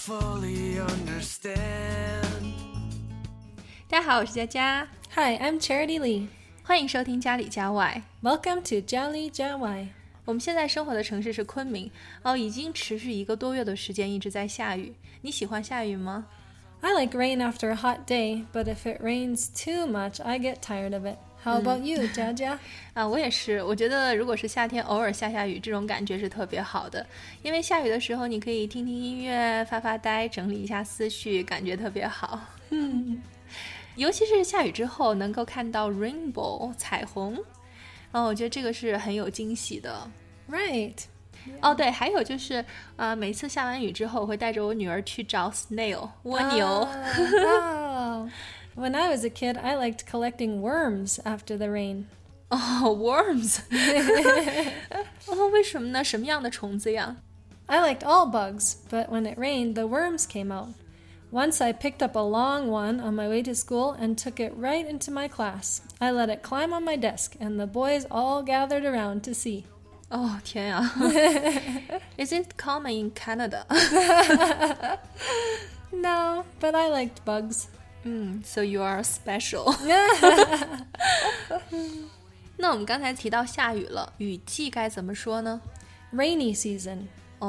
fully understand. 大家好，我是佳佳。 Hi, I'm Charity Lee. 欢迎收听家里家外。 Welcome to 家里家外。 我们现在生活的城市是昆明，已经持续1个多月的时间一直在下雨。你喜欢下雨吗？ I like rain after a hot day, but if it rains too much, I get tired of it. How about you, 佳佳？ 我也是，我觉得如果是夏天偶尔下雨，这种感觉是特别好的，因为下雨的时候你可以听听音乐，发发呆，整理一下思绪，感觉特别好。尤其是下雨之后能够看到 rainbow 彩虹，我觉得这个是很有惊喜的。 Right. 对，还有就是每次下完雨之后我会带着我女儿去找 snail 蜗牛。 Oh. When I was a kid, I liked collecting worms after the rain. Worms. 为什么呢？什么样的虫子呀？ I liked all bugs, but when it rained, the worms came out. Once I picked up a long one on my way to school and took it right into my class. I let it climb on my desk, and the boys all gathered around to see. 天呀。Is it common in Canada? No, but I liked bugs. So you are special. 那我们刚才提到下雨了，雨季该怎么说呢？ Rainy season.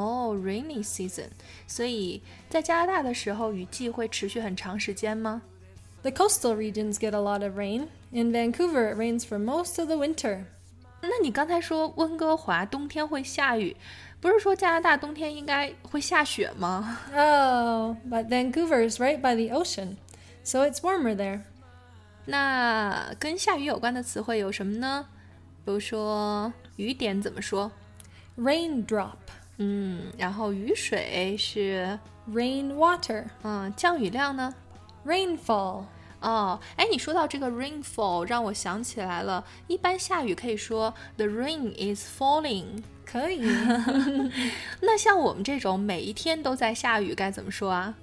Rainy season. 所以在加拿大的时候，雨季会持续很长时间吗？ The coastal regions get a lot of rain. In Vancouver, it rains for most of the winter. 那你刚才说温哥华冬天会下雨，不是说加拿大冬天应该会下雪吗？ Oh, but Vancouver is right by the ocean, so it's warmer there. 那跟下雨有关的词汇有什么呢？比如说雨点怎么说？ Raindrop. 然后雨水是 Rainwater. 降雨量呢？ Rainfall. 你说到这个 rainfall 让我想起来了，一般下雨可以说 the rain is falling。 可以。 那像我们这种每一天都在下雨该怎么说啊？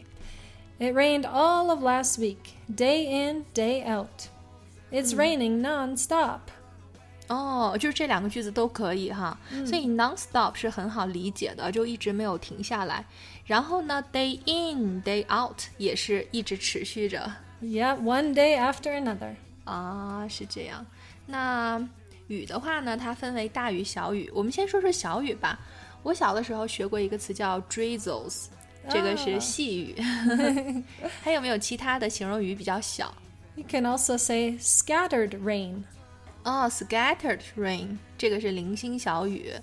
It rained all of last week, day in, day out. It's raining non-stop. 就是这2个句子都可以哈。所以 non-stop 是很好理解的，就一直没有停下来。然后呢 day in, day out 也是一直持续着。 Yeah, one day after another. 是这样。那雨的话呢，它分为大雨小雨。我们先说说小雨吧。我小的时候学过一个词叫 drizzles， 这个是细雨。还有没有其他的形容雨比较小？ You can also say scattered rain. Scattered rain， 这个是零星小雨。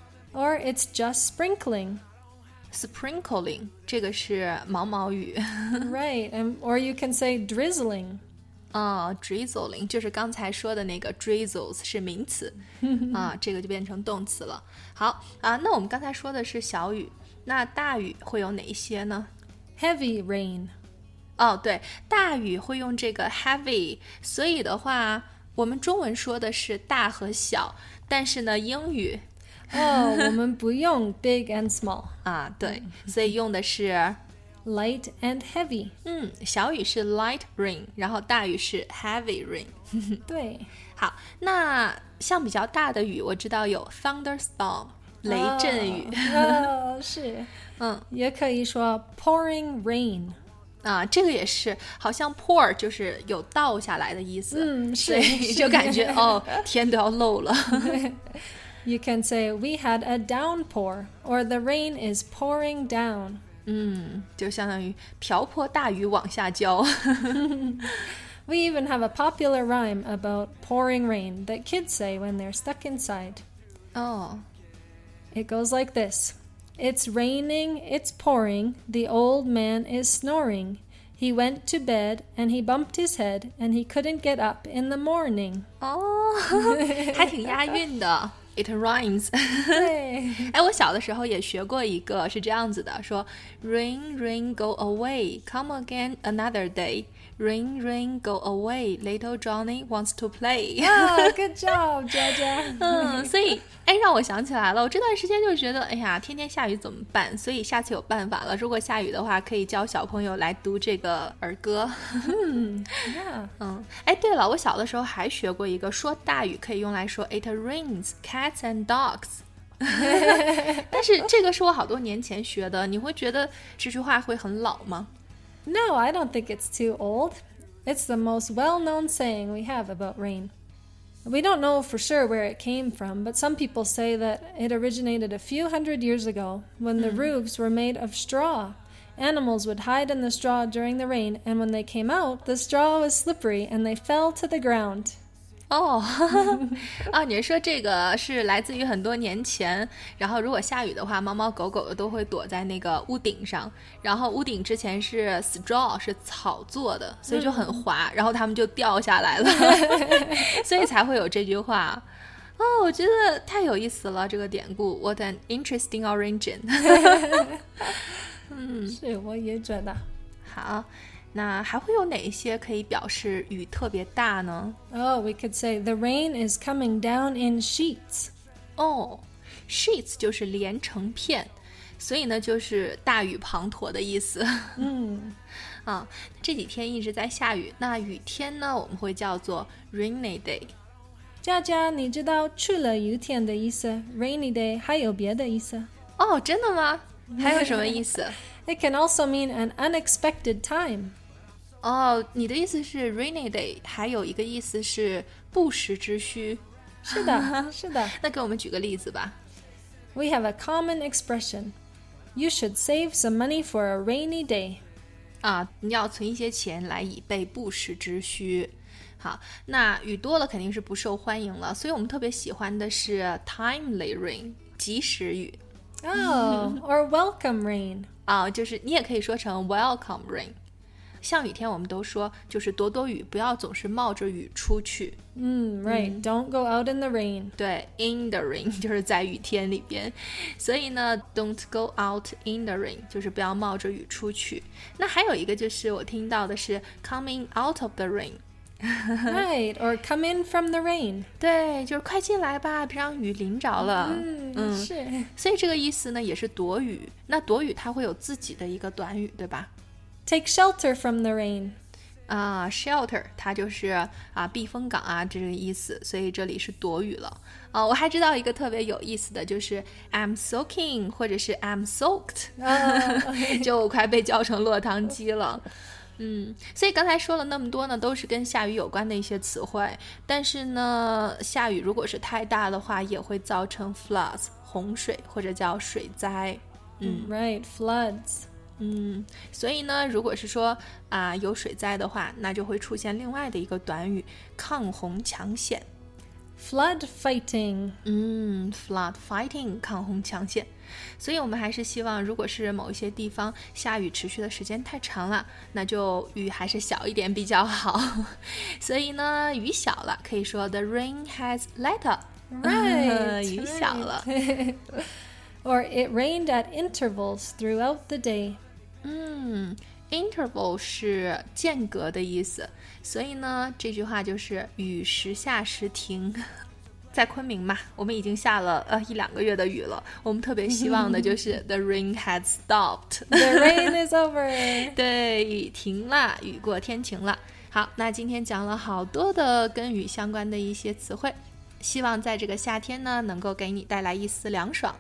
Or it's just sprinkling. Sprinkling， 这个是毛毛雨。 Right, or you can say drizzling. Drizzling 就是刚才说的那个 drizzles 是名词。这个就变成动词了。好那我们刚才说的是小雨，那大雨会有哪一些呢？ Heavy rain. 对，大雨会用这个 heavy， 所以的话我们中文说的是大和小，但是呢英语我们不用 big and small. 对，所以用的是 Light and heavy. 小雨是 light rain， 然后大雨是 heavy rain。 对。 好，那像比较大的雨我知道有 thunderstorm 雷阵雨。 是。也可以说 pouring rain. 这个也是，好像 pour 就是有倒下来的意思。 是。 所以就感觉天都要漏了。 You can say we had a downpour, or the rain is pouring down. 就相当于瓢泼大雨往下浇。 We even have a popular rhyme about pouring rain that kids say when they're stuck inside. It goes like this. It's raining, it's pouring, the old man is snoring. He went to bed and he bumped his head and he couldn't get up in the morning. 还挺押韵的。It rhymes. 对。 我小的时候也学过一个是这样子的，说 Rain, rain, go away, come again another day. Rain, rain, go away, little Johnny wants to play. Good job, 佳佳。 所以让我想起来了，我这段时间就觉得天天下雨怎么办？所以下次有办法了，如果下雨的话可以教小朋友来读这个儿歌。对了，我小的时候还学过一个，说大雨可以用来说 It rains cats and dogs. 但是这个是我好多年前学的，你会觉得这句话会很老吗？ No, I don't think it's too old. It's the most well-known saying we have about rain. We don't know for sure where it came from, but some people say that it originated a few hundred years ago when the roofs were made of straw. Animals would hide in the straw during the rain, and when they came out, the straw was slippery and they fell to the ground. 哦，你是说这个是来自于很多年前，然后如果下雨的话，猫猫狗狗的都会躲在那个屋顶上，然后屋顶之前是 straw 是草做的，所以就很滑，然后它们就掉下来了，所以才会有这句话。哦，我觉得太有意思了，这个典故 What an interesting origin 是，我也觉得。 好，那还会有哪一些可以表示雨特别大呢？ Oh, we could say the rain is coming down in sheets. 哦， sheets 就是连成片，所以呢就是大雨滂沱的意思。这几天一直在下雨，那雨天呢我们会叫做 rainy day。 佳佳，你知道去了雨天的意思 rainy day 还有别的意思？ 哦，真的吗？还有什么意思？ It can also mean an unexpected time. 哦，你的意思是 rainy day 还有一个意思是不时之需。 是的，是的。 那给我们举个例子吧。 We have a common expression. You should save some money for a rainy day. 你要存一些钱来以备不时之需。好，那雨多了肯定是不受欢迎了，所以我们特别喜欢的是 timely rain 及时雨。 Oh, or welcome rain. 就是你也可以说成 welcome rain。像雨天我们都说就是躲躲雨，不要总是冒着雨出去。 Right. Don't go out in the rain. 对 in the rain 就是在雨天里边，所以呢 don't go out in the rain 就是不要冒着雨出去。那还有一个就是我听到的是 coming out of the rain。 Right, or come in from the rain. 对，就是快进来吧，别让雨淋着了。 是。 所以这个意思呢也是躲雨。那躲雨它会有自己的一个短语，对吧？ Take shelter from the rain. shelter 它就是避风港这个意思，所以这里是躲雨了。我还知道一个特别有意思的，就是 I'm soaking 或者是 I'm soaked，就我快被叫成落汤鸡了。所以刚才说了那么多呢，都是跟下雨有关的一些词汇，但是呢，下雨如果是太大的话，也会造成 floods 洪水或者叫水灾。 Right, floods. 所以呢，如果是说有水灾的话，那就会出现另外的一个短语抗洪抢险。 Flood fighting. Flood fighting 抗洪抢险。所以我们还是希望，如果是某一些地方下雨持续的时间太长了，那就雨还是小一点比较好。所以呢，雨小了，可以说 The rain has let up. Right. 雨小了。 Or it rained at intervals throughout the day. Interval 是间隔的意思，所以呢，这句话就是雨时下时停。在昆明嘛，我们已经下了1-2个月的雨了，我们特别希望的就是 The rain had stopped. The rain is over. 对，雨停了，雨过天晴了。好，那今天讲了好多的跟雨相关的一些词汇，希望在这个夏天呢，能够给你带来一丝凉爽。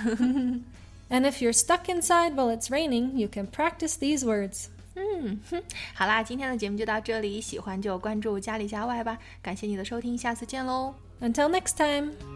And if you're stuck inside while it's raining, you can practice these words. 好啦，今天的节目就到这里，喜欢就关注家里家外吧，感谢你的收听，下次见喽。 Until next time.